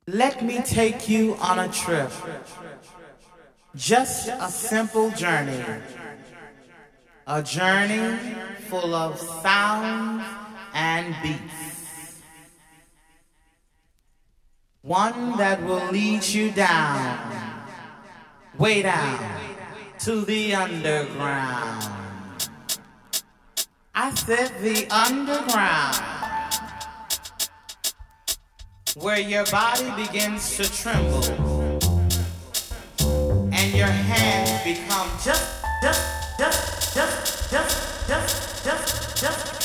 Let me take you on a trip. Just a simple journey. A journey full of sounds and beats. One that will lead you down, way down, to the underground. I said the underground, where your body begins to tremble and your hands become just.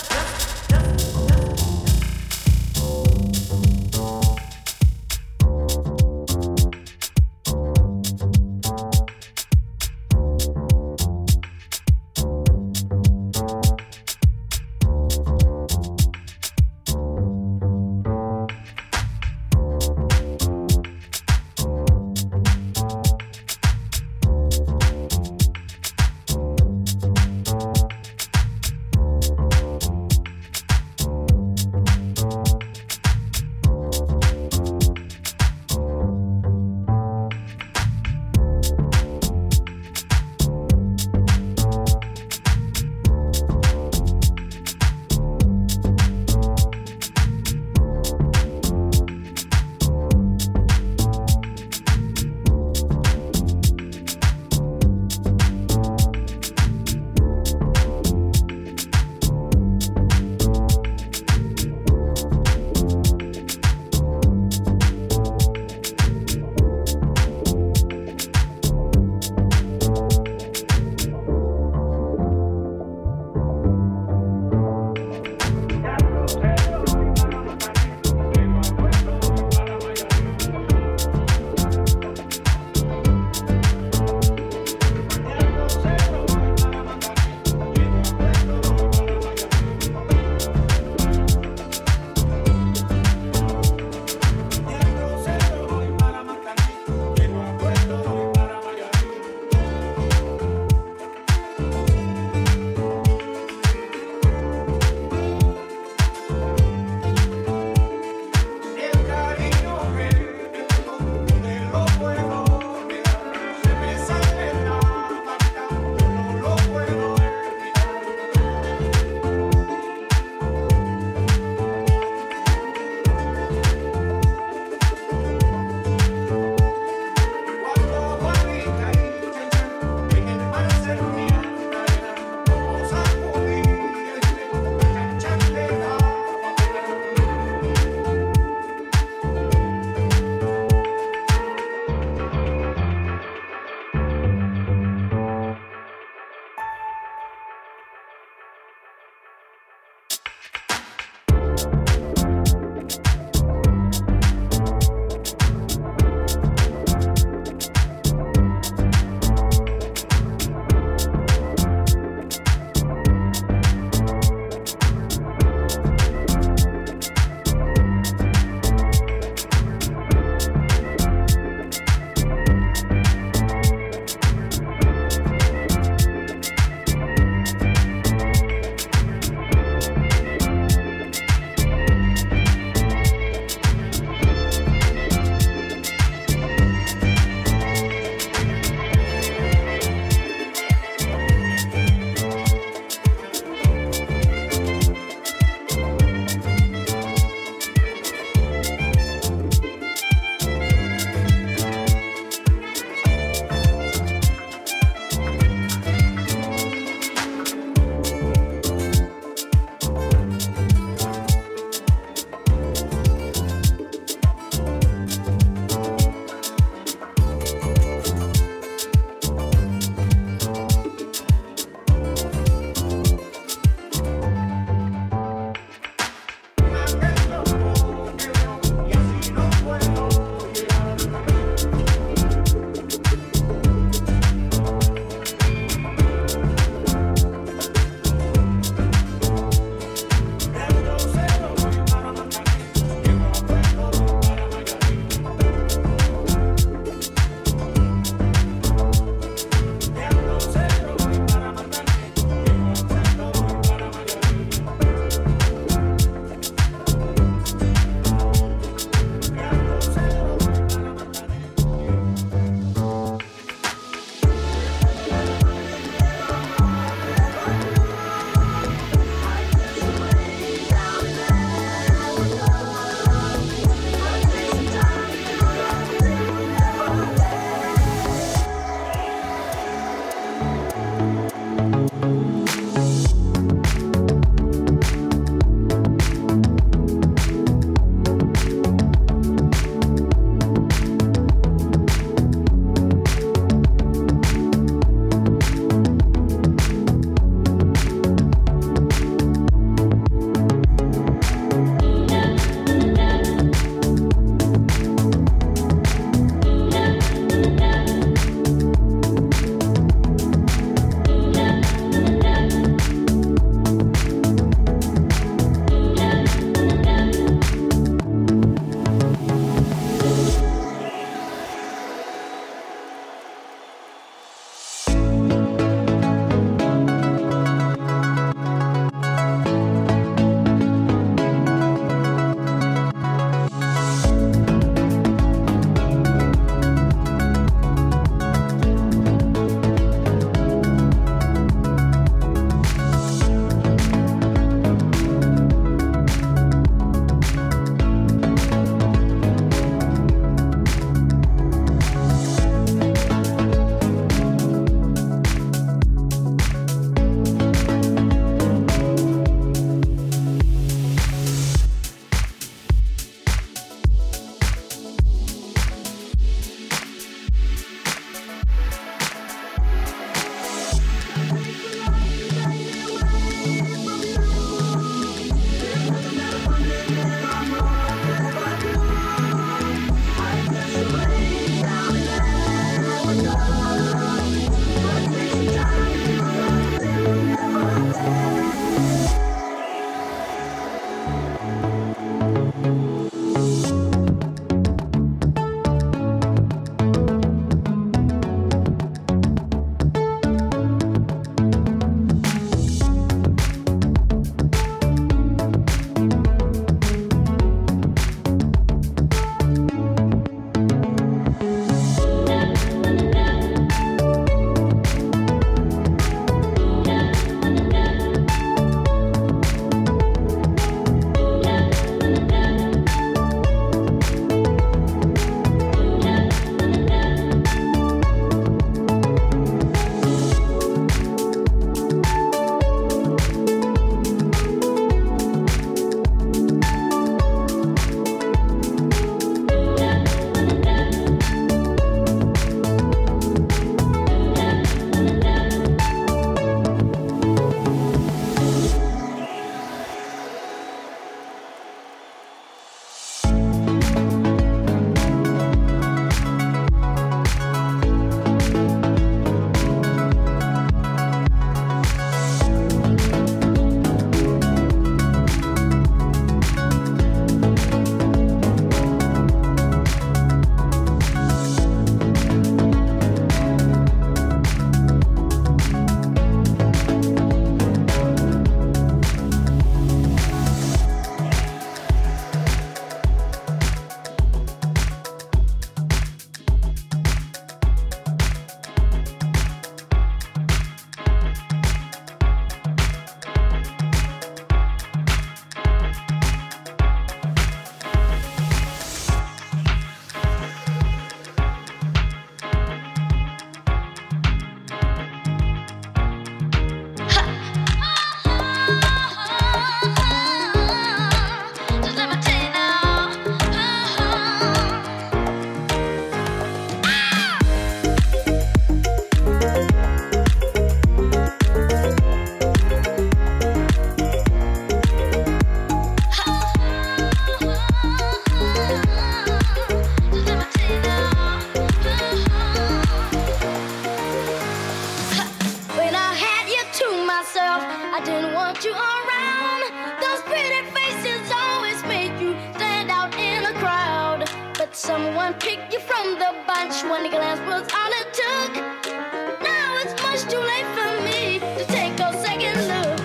Someone picked you from the bunch. One glance was all it took. Now it's much too late for me to take a second look.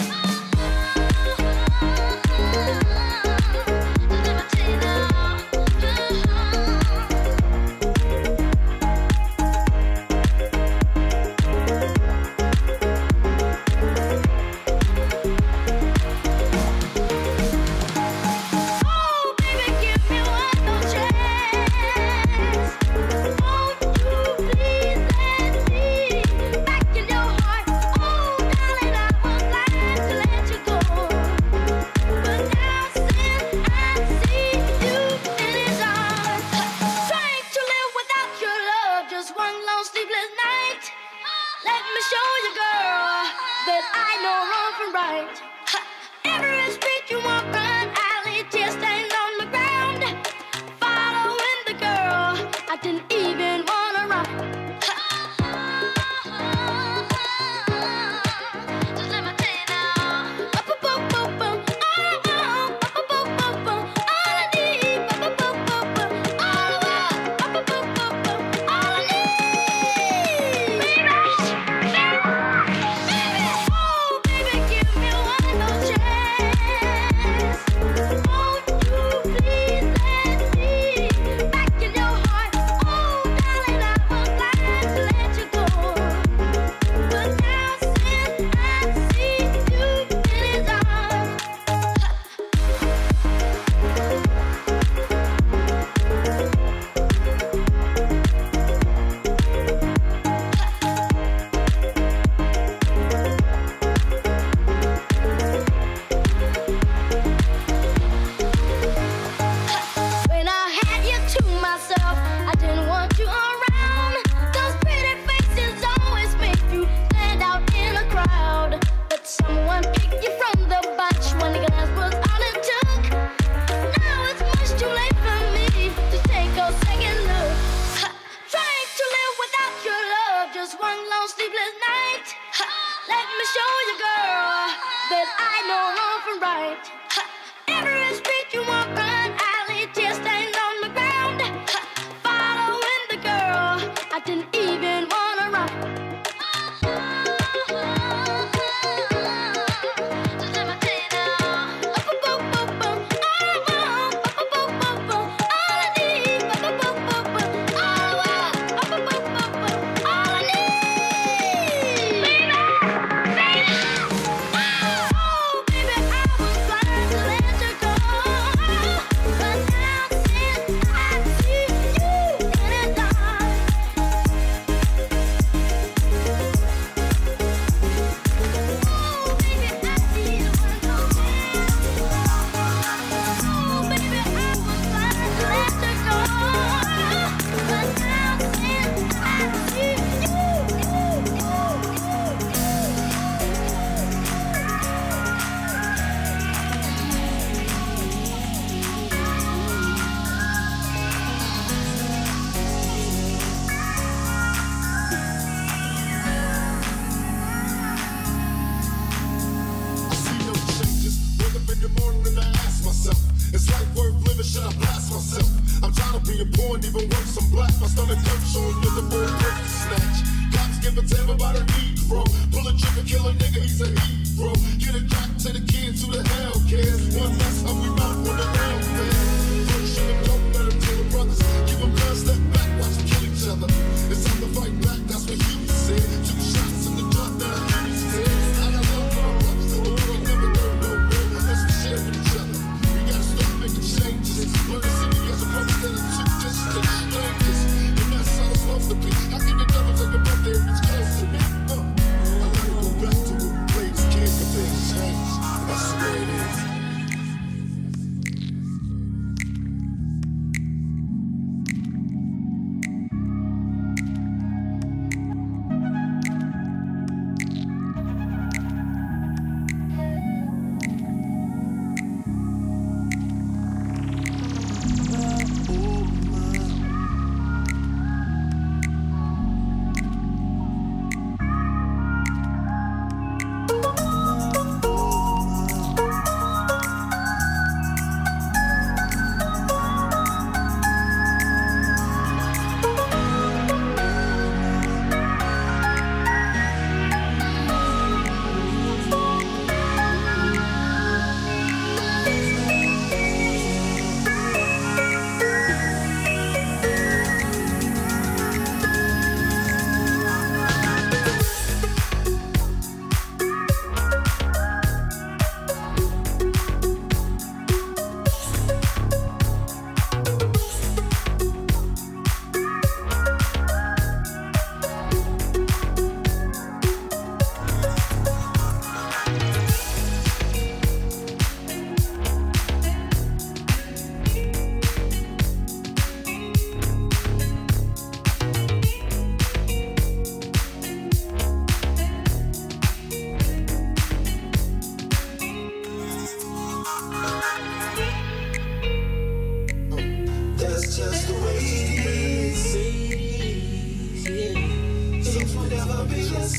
Let me tell you now.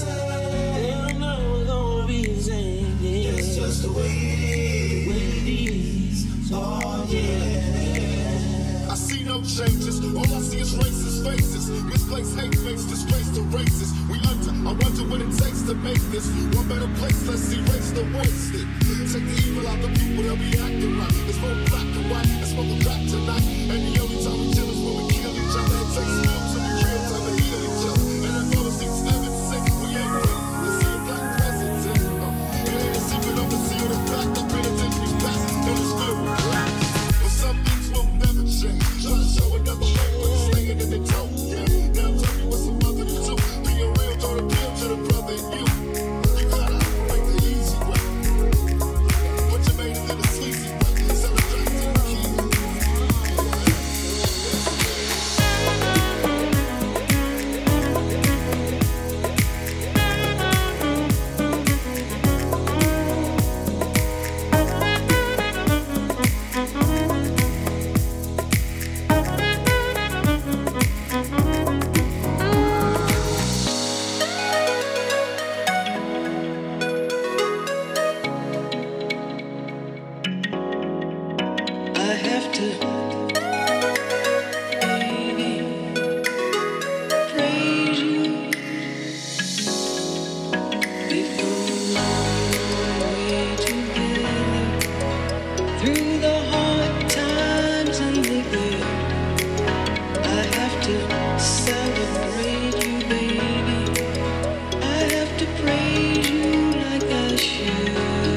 They'll never gonna be the same. Yeah. That's just the way it is. Oh yeah. I see no changes. All I see is racist faces. Misplaced hate makes disgrace to races. We under. I wonder what it takes to make this one better place. Let's erase the wasted. Take the evil out the people that be acting right. It's more black and white. Let's smoke a crack tonight. And the only time we chill is when we kill each other. It takes skill to be real time to heal each other. And I've never seen 7-6. We ain't ready to see a black president. It ain't a secret of the seal that's back. The penitentiary's past and it's filled with black. But some things will never change. Try to show another way, but it's staying in their toe. Yeah. Now tell me what's a mother to do. Being real don't appeal to the brother in you. You gotta operate the easy way. But you made it in the sleazy way. Celebrate the key. I have to, baby, praise you. We've come a long way together through the hard times and the good. I have to celebrate you, baby. I have to praise you like I should.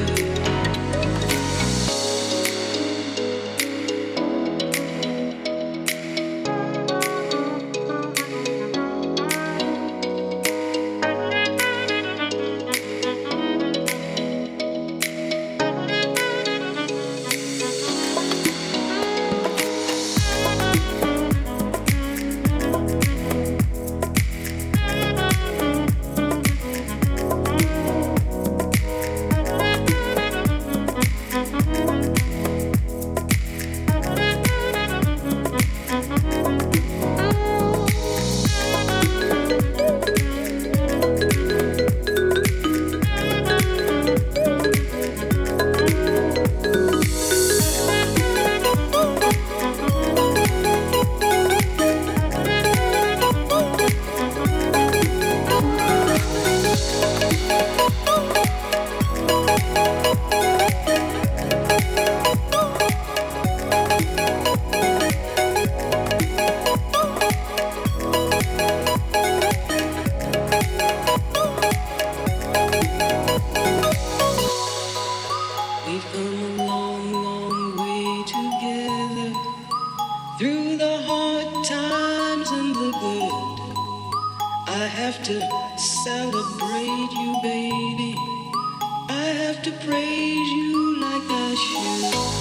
We've come a long, long way together through the hard times and the good. I have to celebrate you, baby. I have to praise you like I should.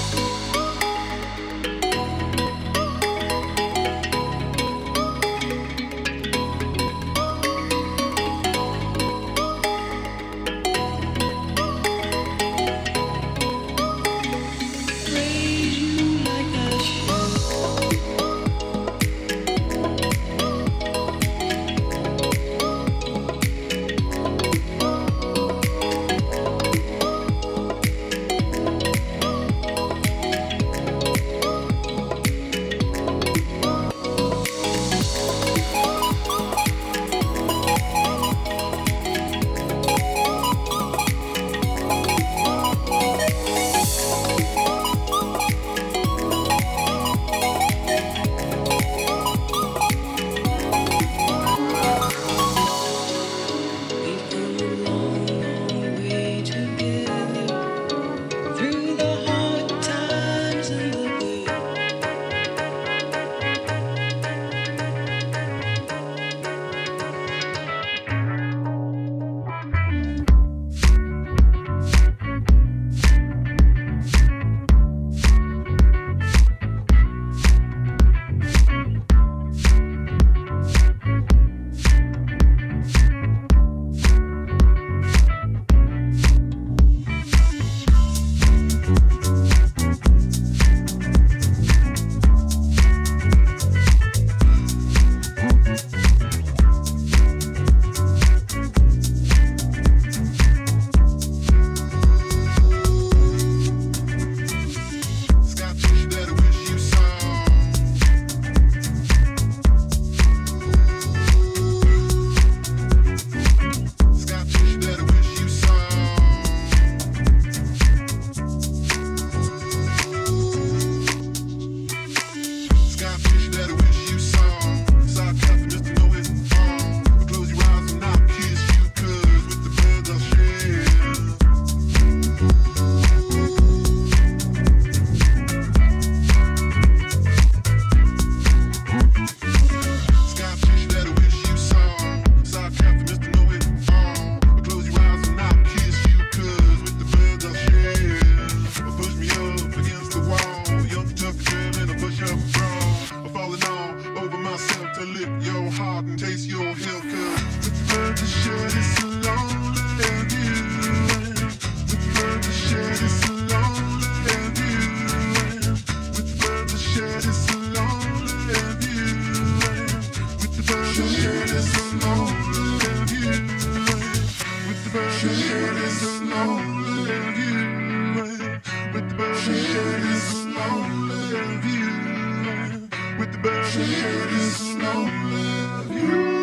Praise you like I should. heart and taste your health. Cause with the birds that shed, it's a lonely view. With the birds that shed, it's a lonely view. With the birds that shed, it's a lonely view. With the birds that shed, it's a lonely view. With the birds that shed, it's a lonely view. With the birds that shed, it's a lonely view. With the birds that shed, it's a lonely view.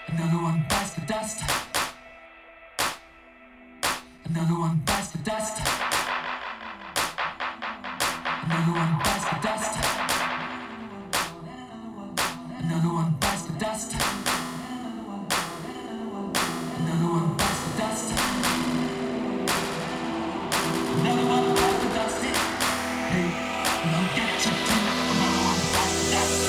Another one bites the dust. Another one bites the dust. Another one bites the dust. Another one bites the dust. Another one bites the dust. Another one bites the dust. Hey, I'll get you too. Another one bites the dust.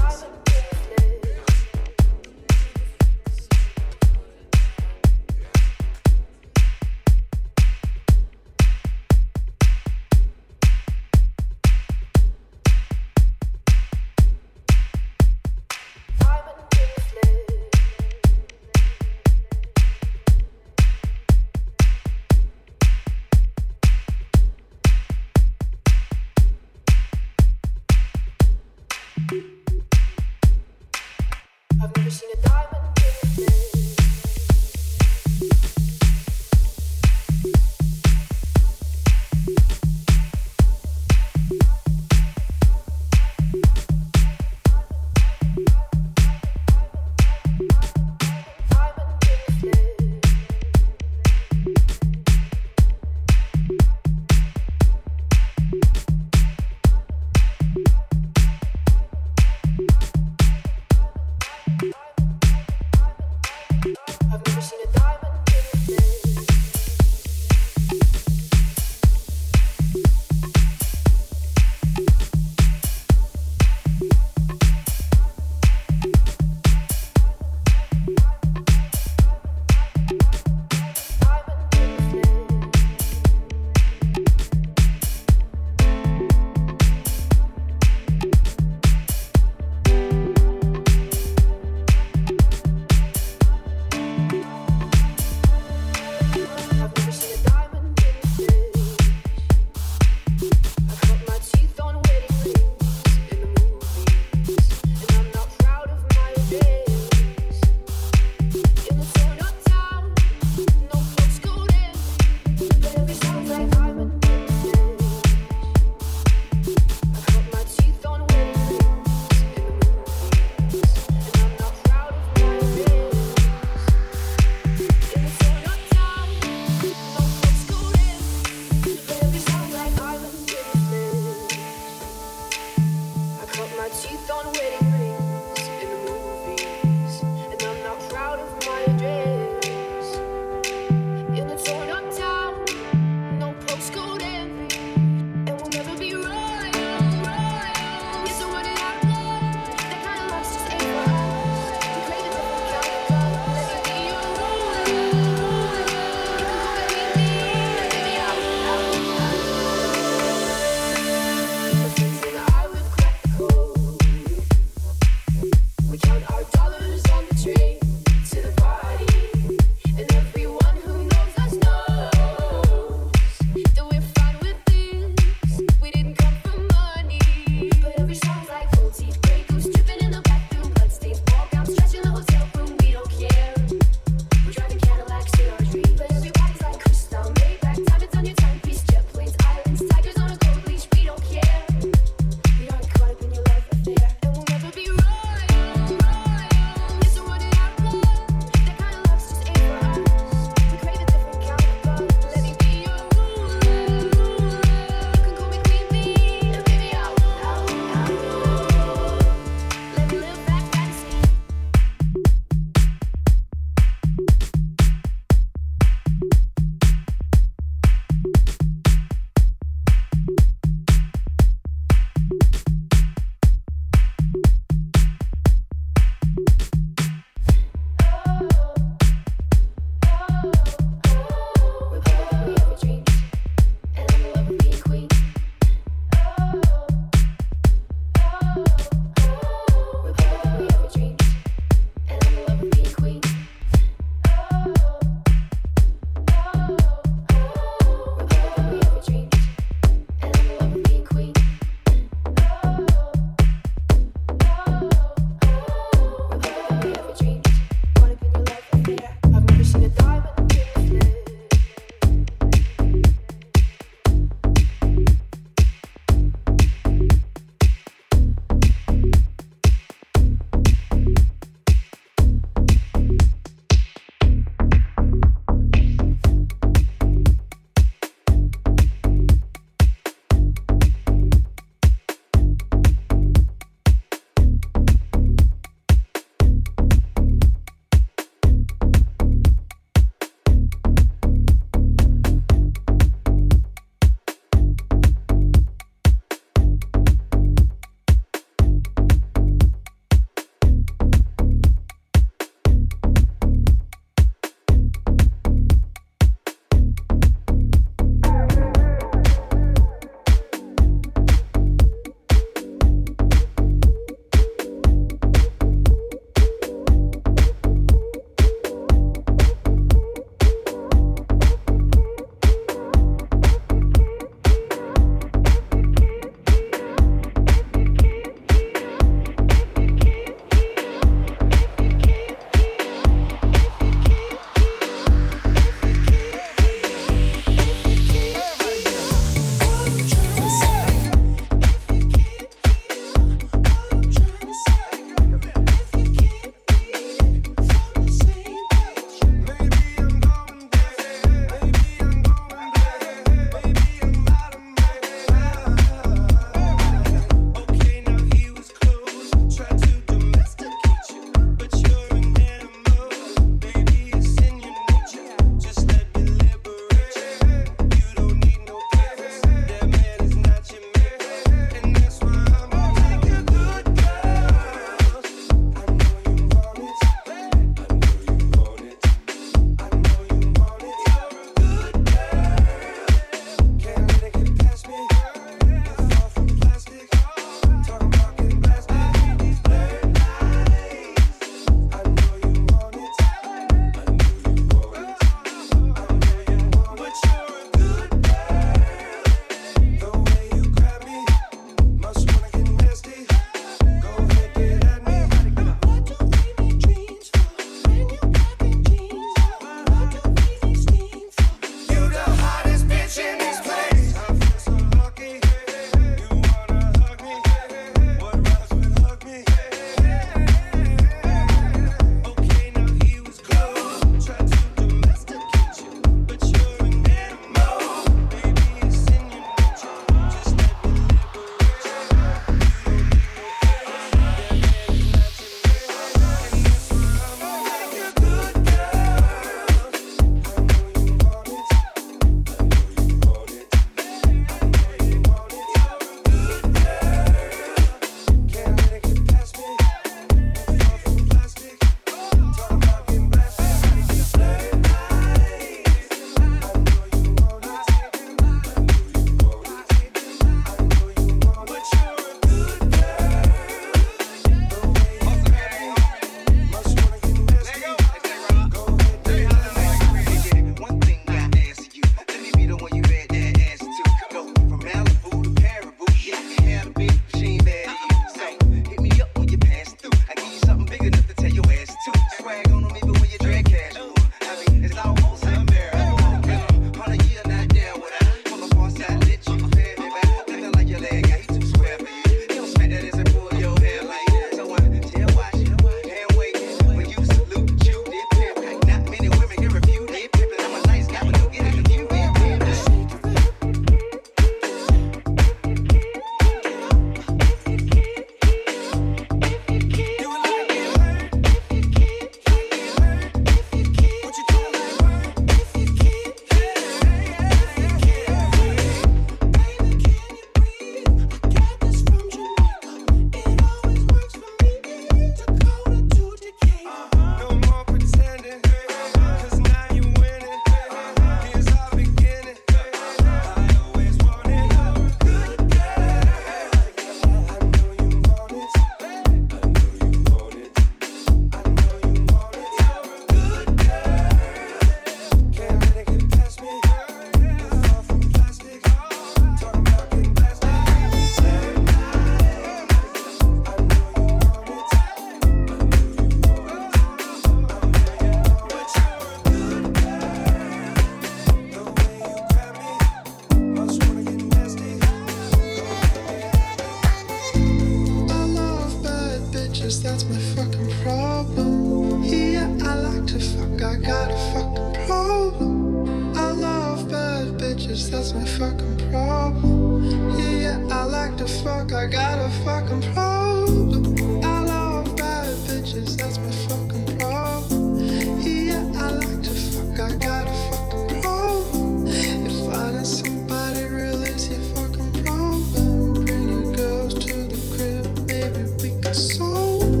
bitches, that's my fucking problem. Yeah, I like to fuck, I got a fucking problem. I love bad bitches, that's my fucking problem. Yeah, I like to fuck, I got a fucking problem. If finding somebody real is your fucking problem, bring your girls to the crib, maybe we can solve it.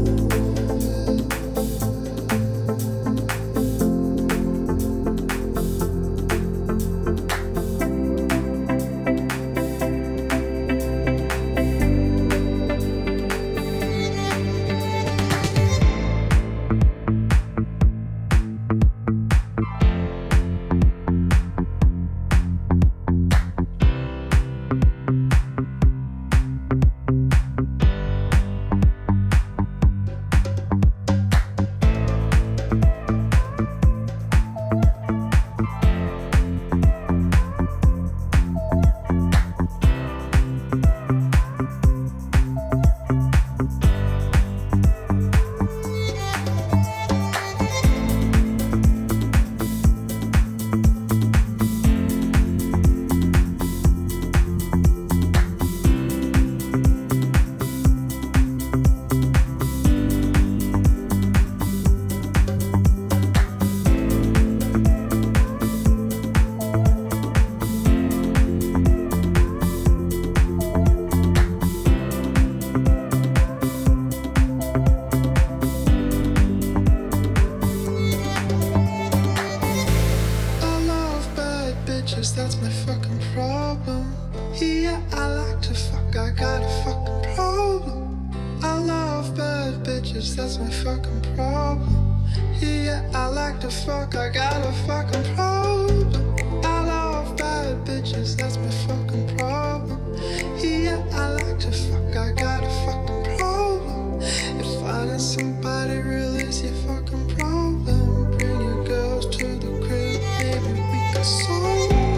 That's my fucking problem. Yeah, I like to fuck, I got a fucking problem. I love bad bitches, that's my fucking problem. Yeah, I like to fuck, I got a fucking problem. I love bad bitches, that's my fucking problem. Yeah, I like to fuck, I got a fucking problem. If finding somebody real is your fucking problem, bring your girls to the crib, maybe we can solve it.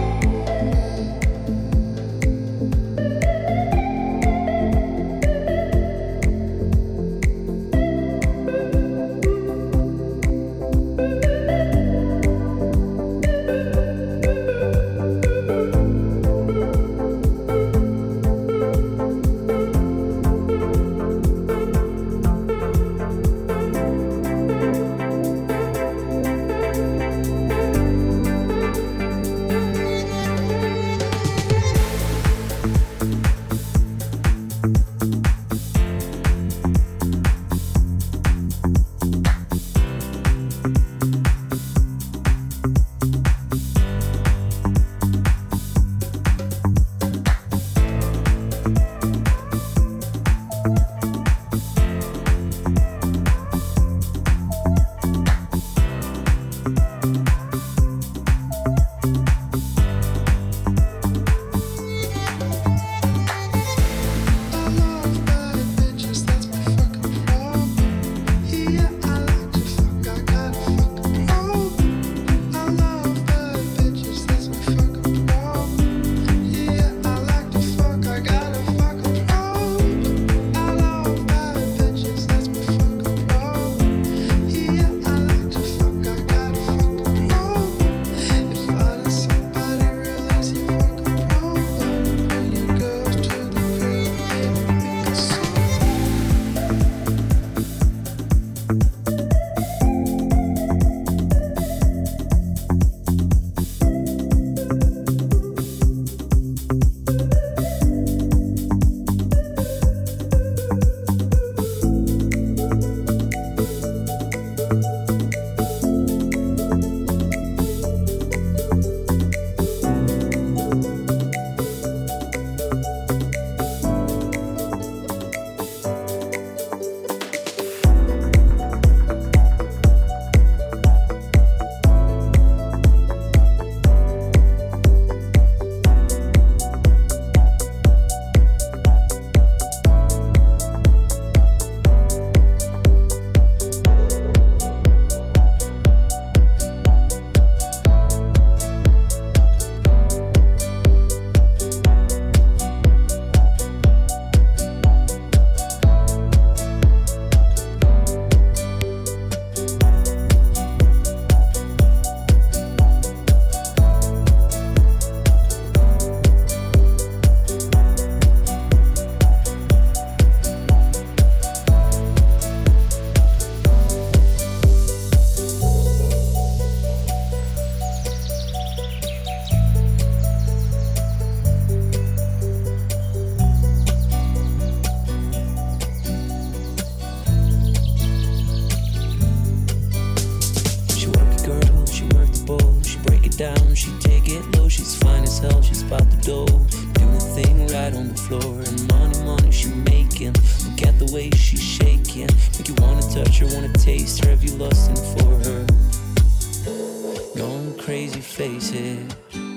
though. Doing the thing right on the floor. And money she making. Look at the way she's shaking. Make you wanna touch her, wanna taste her. Have you lusting for her? Going crazy, face it.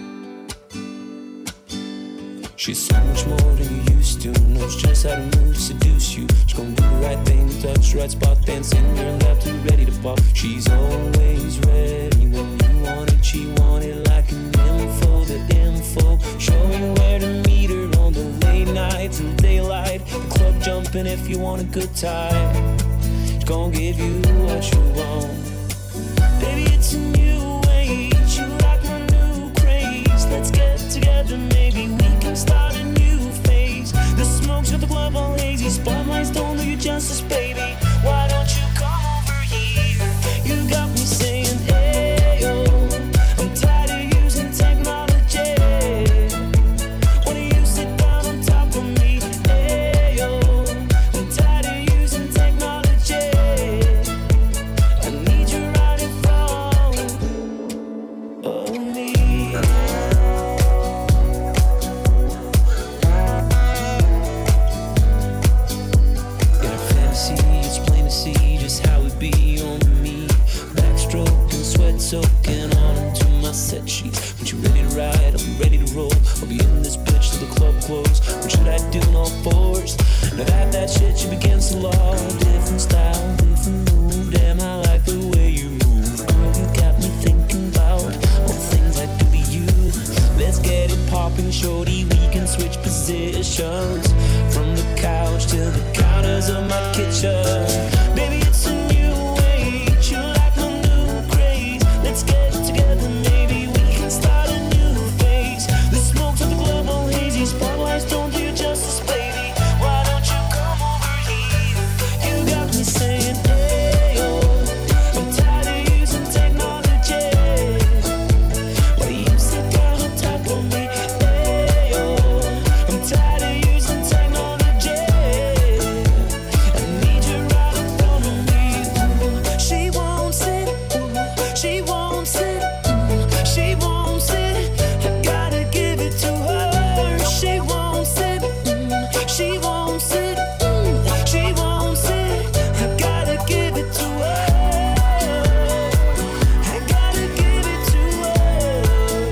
She's so much more than you used to. Knows just how to move, seduce you. She's gonna do the right thing, touch the right spot, dancing in your lap till you're ready to pop. She's always ready when you want it. She want it like an info, the info. Show you where to meet her on the late night till daylight. The club jumping if you want a good time. She's gonna give you what you want. Baby, it's a new age. You like my new craze. Let's get together, maybe we can start a new phase. The smoke's got the club all hazy. Spotlights don't do you justice, baby. Why don't you come over here? You got me saying, hey, yo. I'm tired of using technology. Why don't you sit down on top of me? Hey, yo. I'm tired of using technology. I need you right in front of me. In our fantasy, it's plain to see just how it be on me. Backstroking, sweat soaking on into my set sheets. When you ready to ride, I'll be ready to roll. I'll be in this bitch till the club close. What should I do in all fours? Now that shit should begin to law. Different style, different move. Damn, I like the way you move. Girl, you got me thinking about all the things I do to you. Let's get it popping, shorty. We can switch positions from the couch to the counters of my kitchen. Baby, it's a new age. You like my new craze. Let's get together, maybe we can start a new phase. The smoke's at the club all hazy. Spotlights don't do you justice, baby. Why don't you come over here? You got me saying, hey, yo. I'm tired of using technology. Why do you sit down on top of me? Hey, yo. I'm tired of using technology. I need you right in front of me. Ooh, she won't sit. Ooh, she won't sit. Ooh, she won't sit. I gotta give it to her. She won't sit. She won't sit. She won't sit. I gotta give it to her. I gotta give it to her.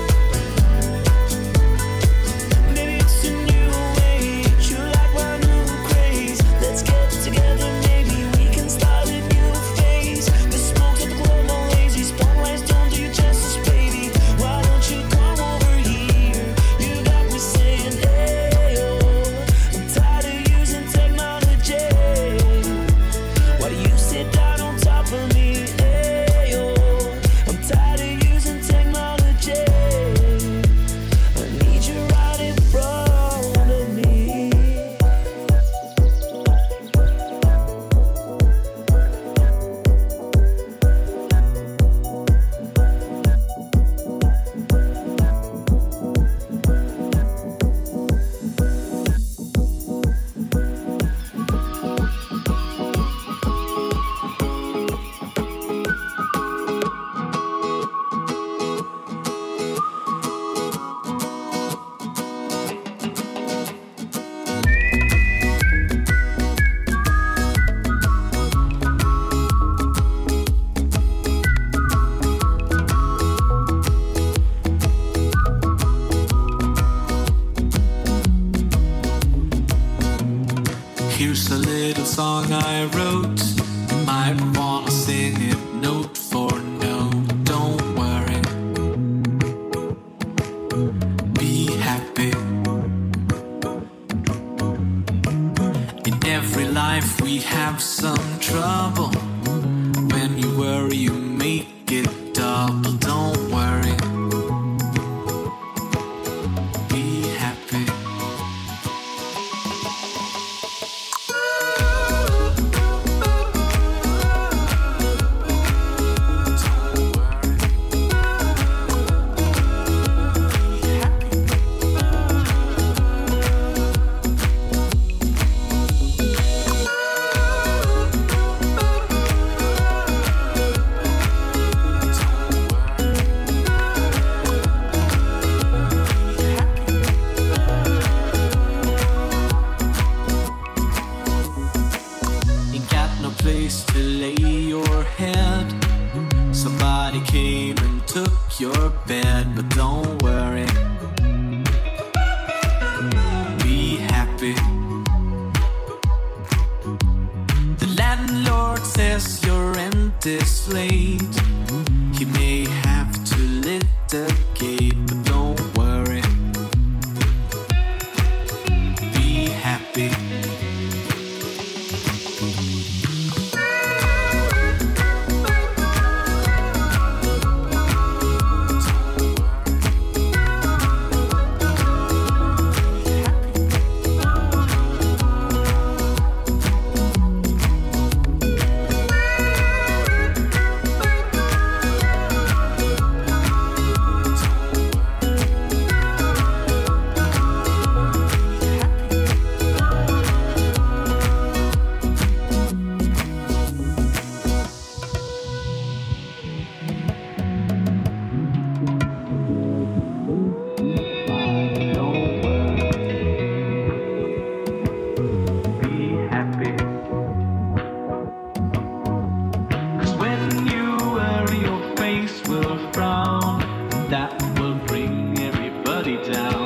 Maybe it's a new age. You like my new craze. Let's get together, maybe we can start a new phase. The smoke's at the club all lazy. Spotlights don't do you justice, baby. Why don't you come over here? You got me saying, hey, yo. I'm tired of using technology. Why do you sit down on top of me? Hey, yo. I'm tired of using technology. I need you right in front of me. Here's a little song I wrote. You might wanna sing it note for note. Don't worry, be happy. In every life we have some trouble. When you worry, you make it double. Don't worry, be happy. down.